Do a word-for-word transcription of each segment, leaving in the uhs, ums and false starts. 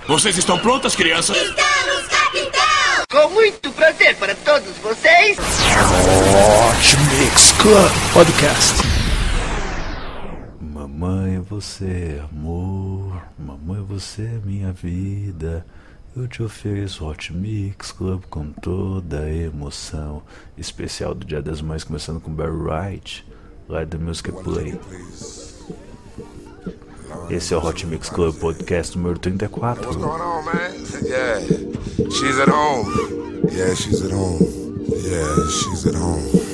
Vocês estão prontas, crianças? Estamos, capitão! Com muito prazer para todos vocês. Hot Mix Club Podcast. Mamãe é você, amor. Mamãe é você, minha vida. Eu te ofereço Hot Mix Club com toda a emoção. Especial do Dia das Mães, começando com Barry White, lá da Music Play. Esse é o Hot Mix Club Podcast número trinta e quatro. What's going on, man? Yeah, she's at home. Yeah, she's at home. Yeah, she's at home.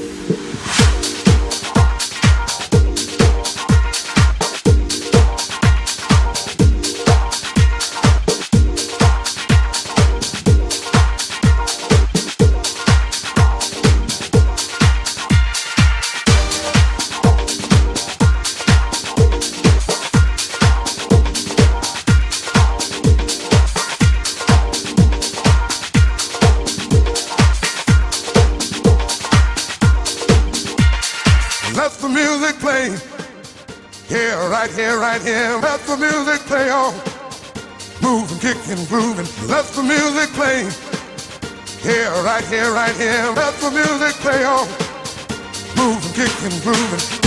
Let the music play. Here, right here, right here. Let the music play on. Moving, kicking, grooving. Let the music play. Here, right here, right here. Let the music play on. Moving, kicking, grooving.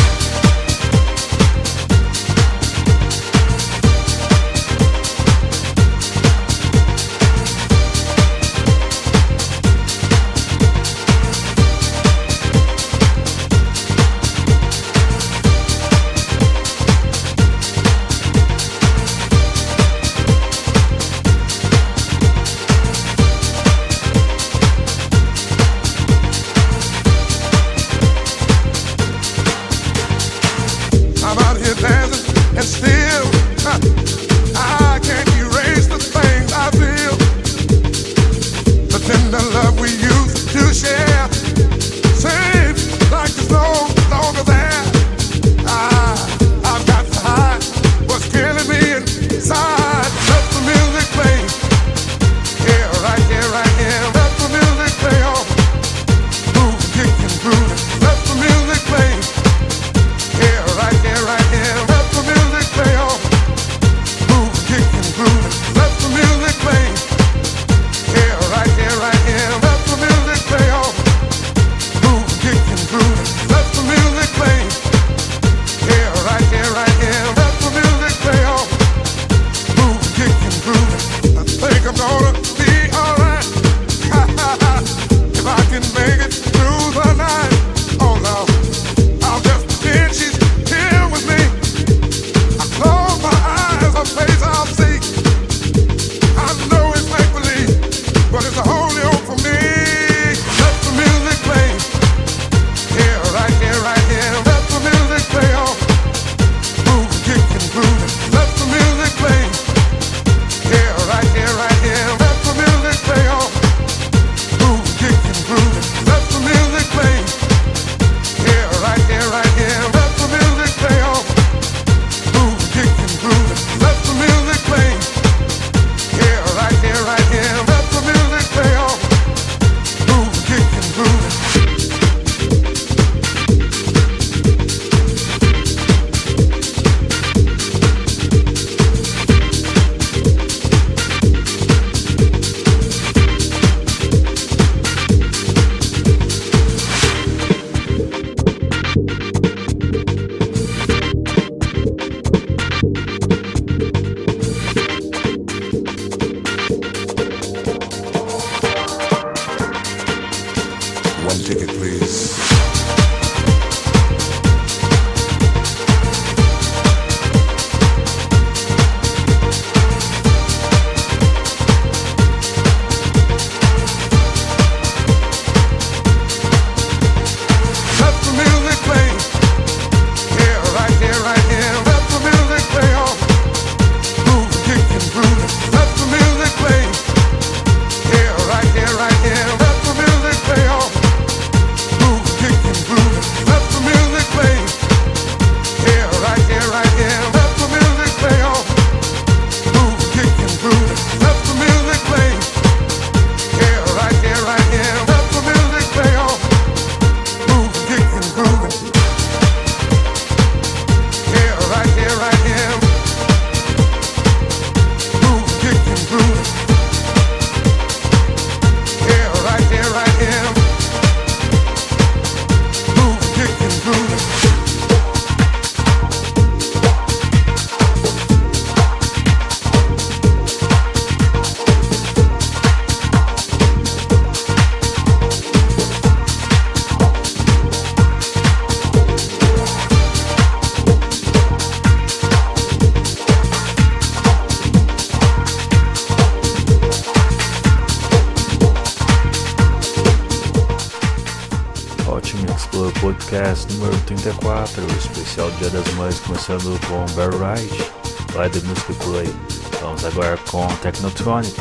Hot Mix Club Podcast número trinta e quatro, especial Dia das Mães, começando com Barry White, lá The Music Play. Vamos agora com Technotronic,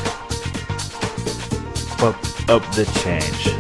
Pop Up The Change.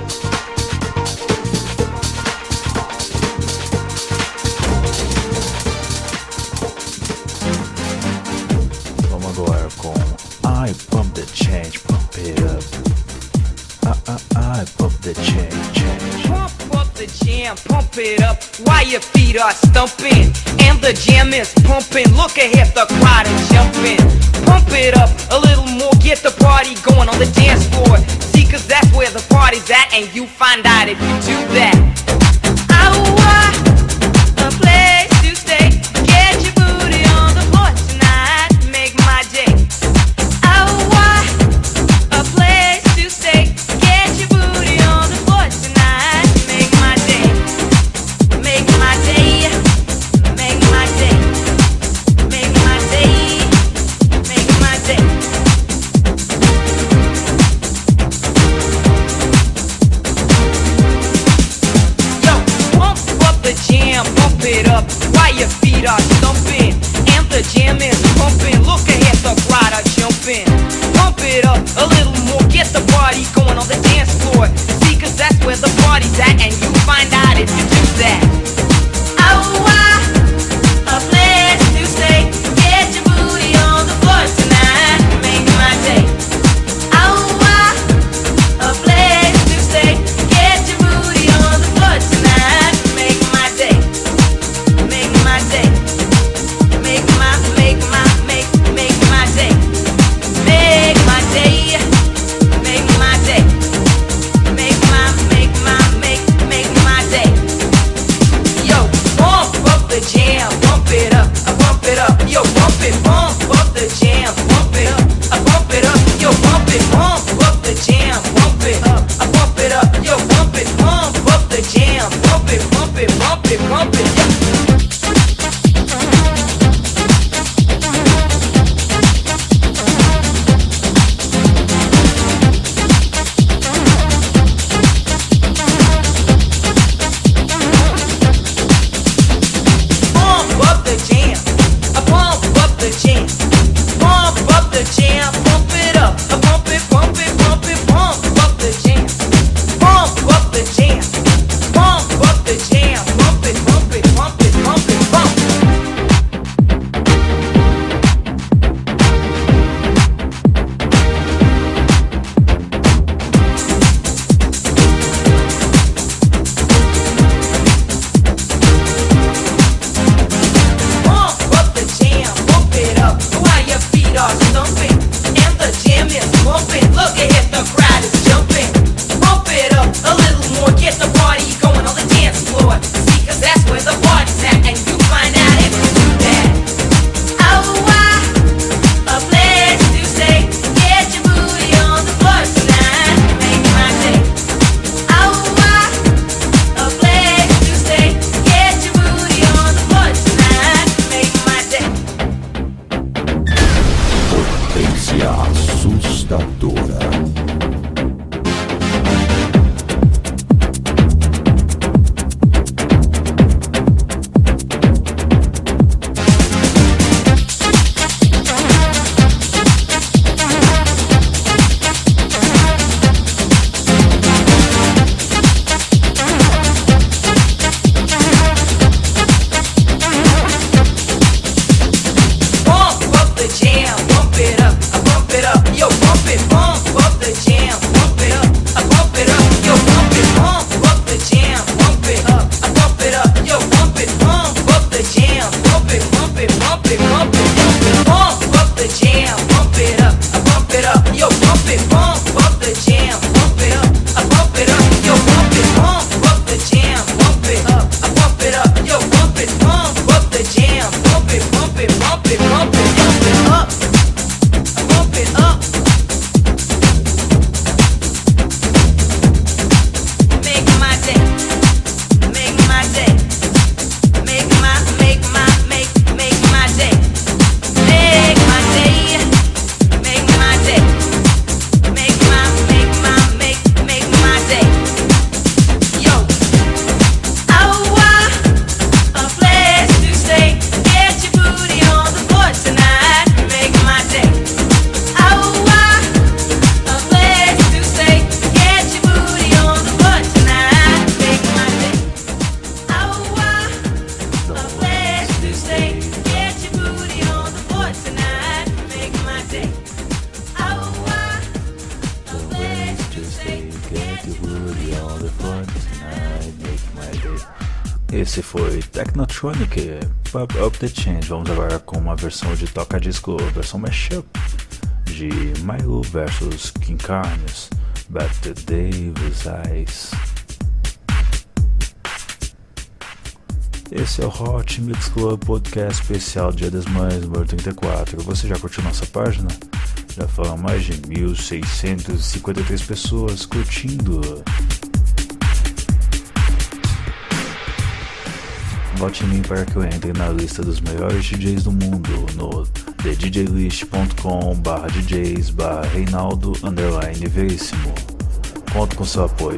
Vamos agora com I Pump The Change, Pump It Up. I, I, I pump the change, change. Pump up the jam, pump it up while your feet are stumping. And the jam is pumping, look ahead, the crowd is jumping. Pump it up a little more, get the party going on the dance floor. See, cause that's where the party's at, and you find out if you do that. Oh, what a place to stay. Get your booty on the floor tonight, make my day. Oh, what a place to stay. Get your booty on the floor tonight, make my day. Make my day. Make my day. Make my day. Make my day. Yo, pump up the jam, pump it up while your feet are stumping. And the jam is pumping, look ahead, the crowd are jumping. Pump it up a little more, get the party going on the dance floor. See, cause that's where the party's at, and you find out if you do that. Oh, why a place to stay. Get your booty on the floor tonight, make my day. Oh, why a place to stay. Get your booty on the floor tonight, make my day. Make my day. Make my, make my, make, make my day. Make my day. Make my day. Make my, make my, make, make my day. Esse foi Technotronic, Pop Up The Change. Vamos agora com uma versão de toca-disco, versão mashup de Milo versus King Carnes, Back to Davis Eyes. Esse é o Hot Mix Club Podcast especial Dia das Mães, número trinta e quatro. Você já curtiu nossa página? Já foram mais de mil seiscentas e cinquenta e três pessoas curtindo. Vote em mim para que eu entre na lista dos melhores D Js do mundo no the d j list ponto com barra d js barra Reinaldo underline Veríssimo. Conto com seu apoio.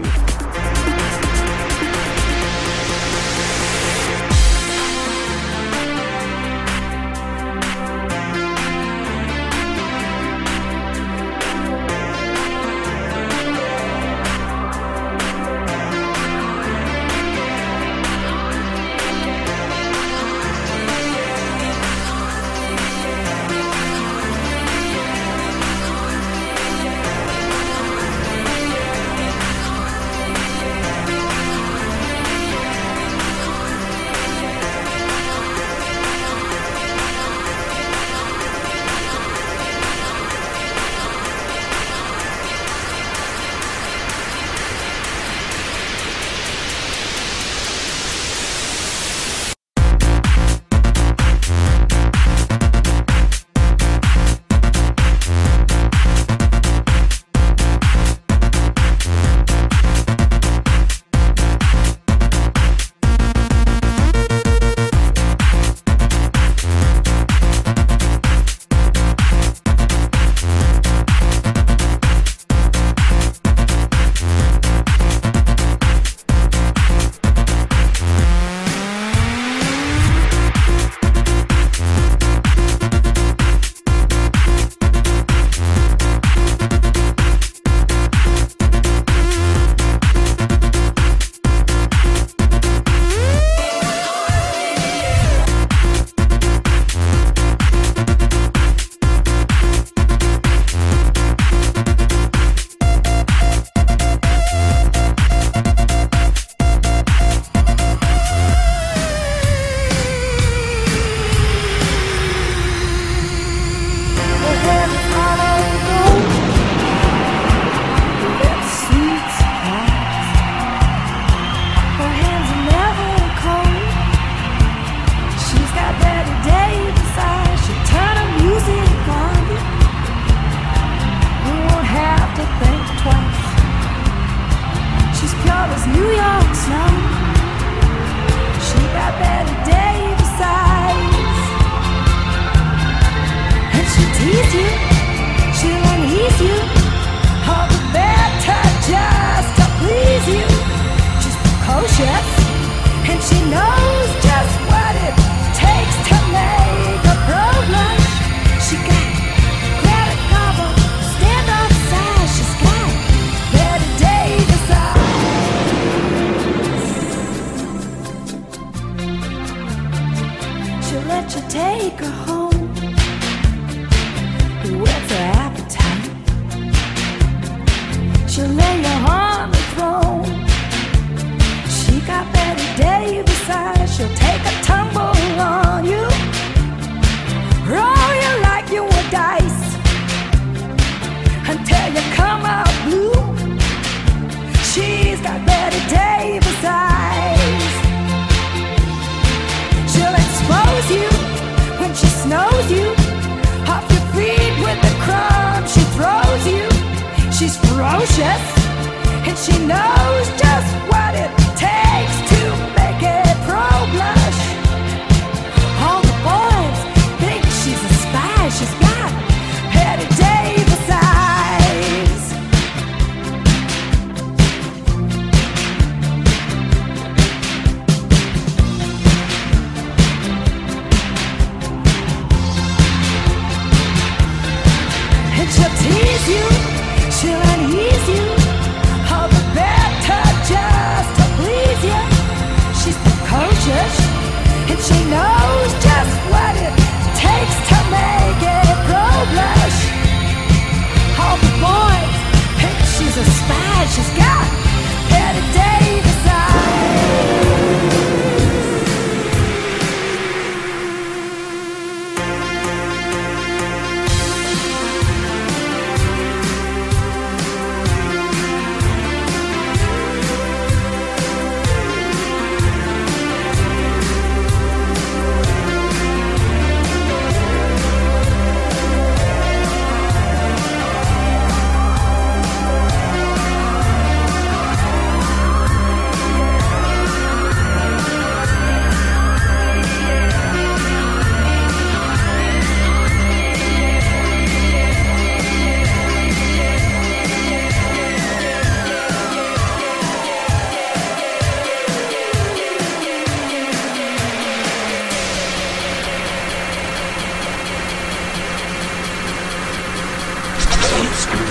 She's got Betty Davis eyes.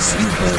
exclusiva.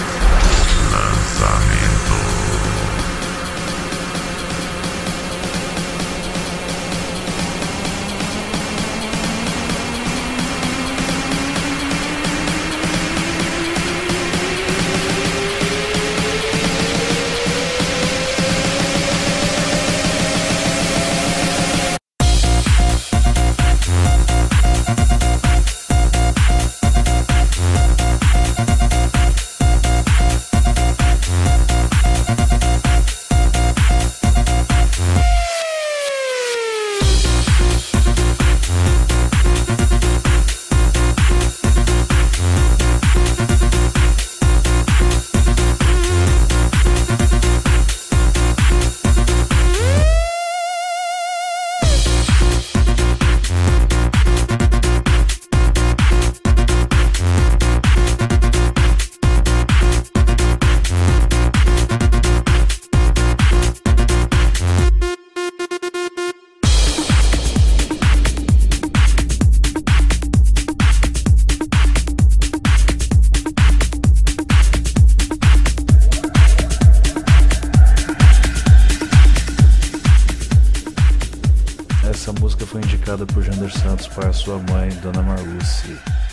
Por Jander Santos para sua mãe, Dona Marluce.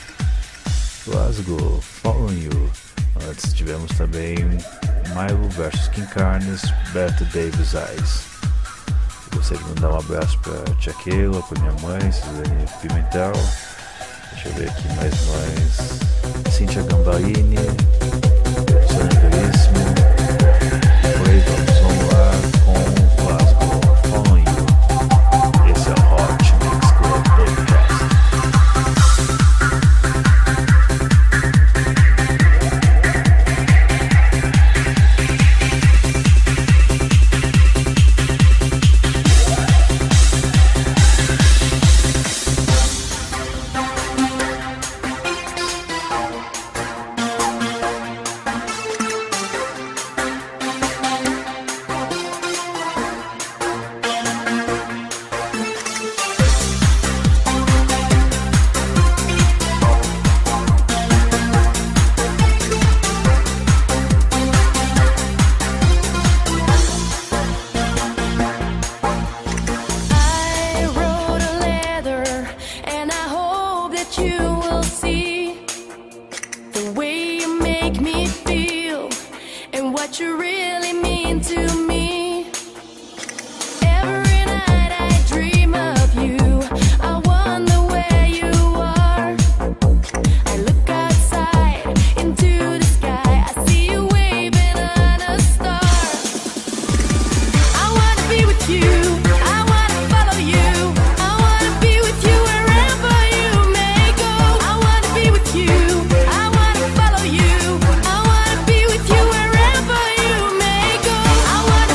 Glasgow, Following You. Antes tivemos também Milo versus King Carnes, Bette Davis Eyes. Gostaria de mandar um abraço para Tia Keila, para minha mãe, Suzane Pimentel. Deixa eu ver aqui mais mães. Cíntia Gambarini, Sônia Veríssimo. Depois vamos, vamos lá com Glasgow, Following You. Esse é o Hot Mix Club Podcast. I wanna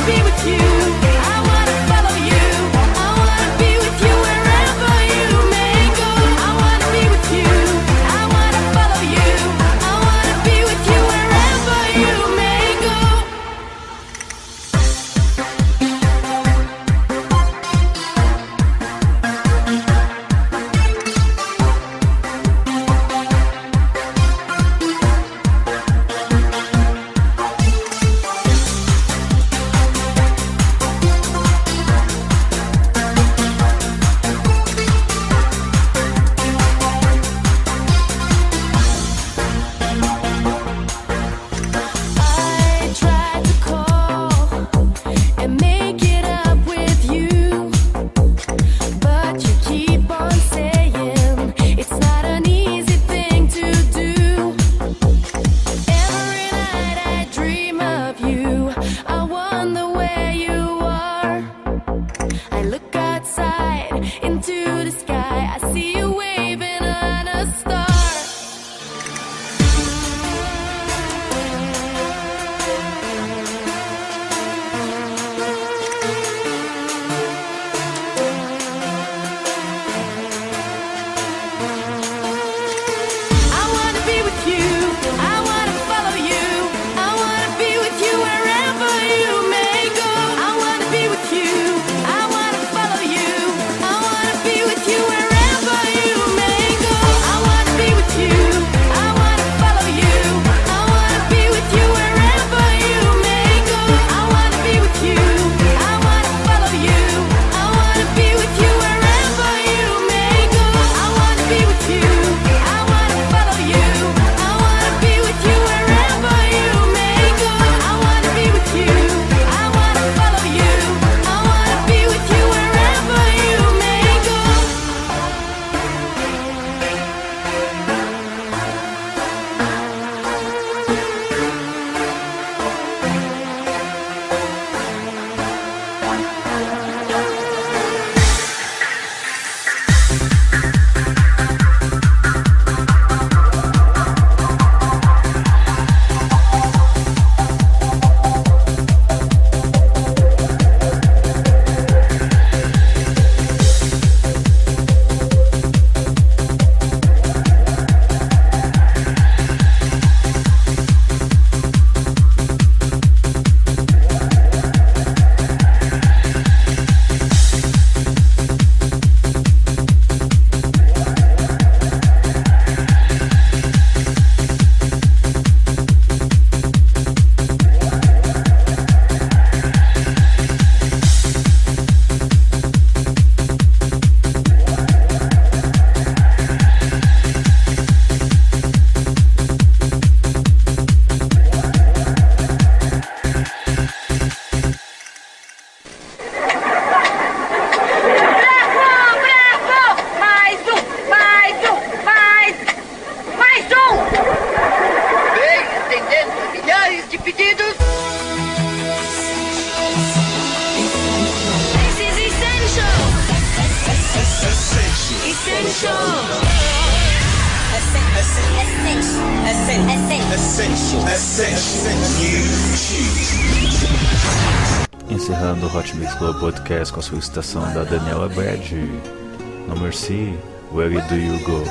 Encerrando o Hot Mix Club Podcast com a solicitação da Daniela Brad, No Mercy, Where Do You Go?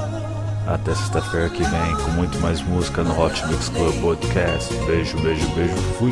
Até sexta-feira que vem com muito mais música no Hot Mix Club Podcast. Beijo, beijo, beijo, fui!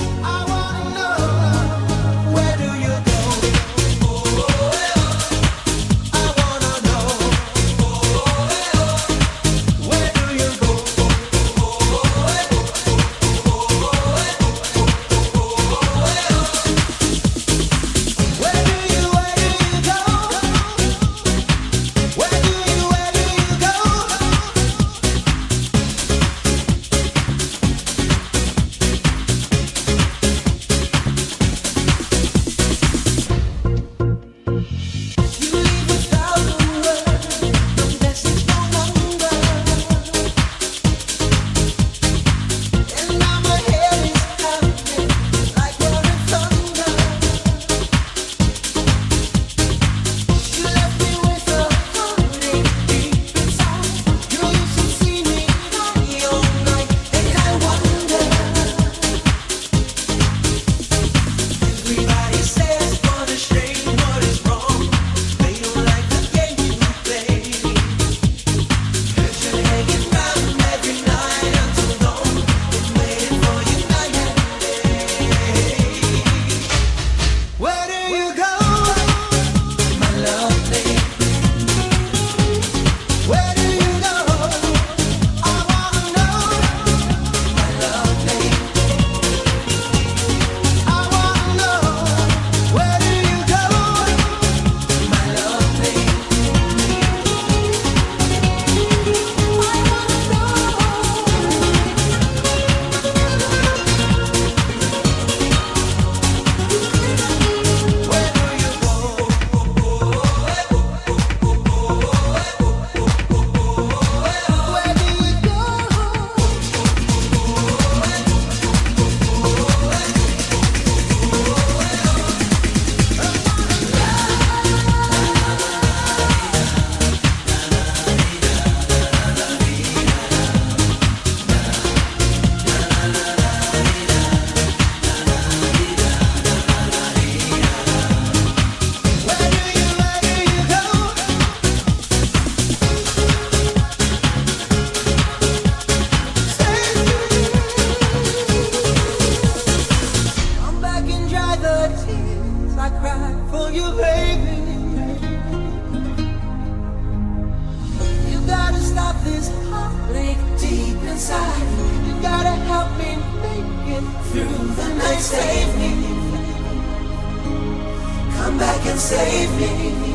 Save me. Come back and save me.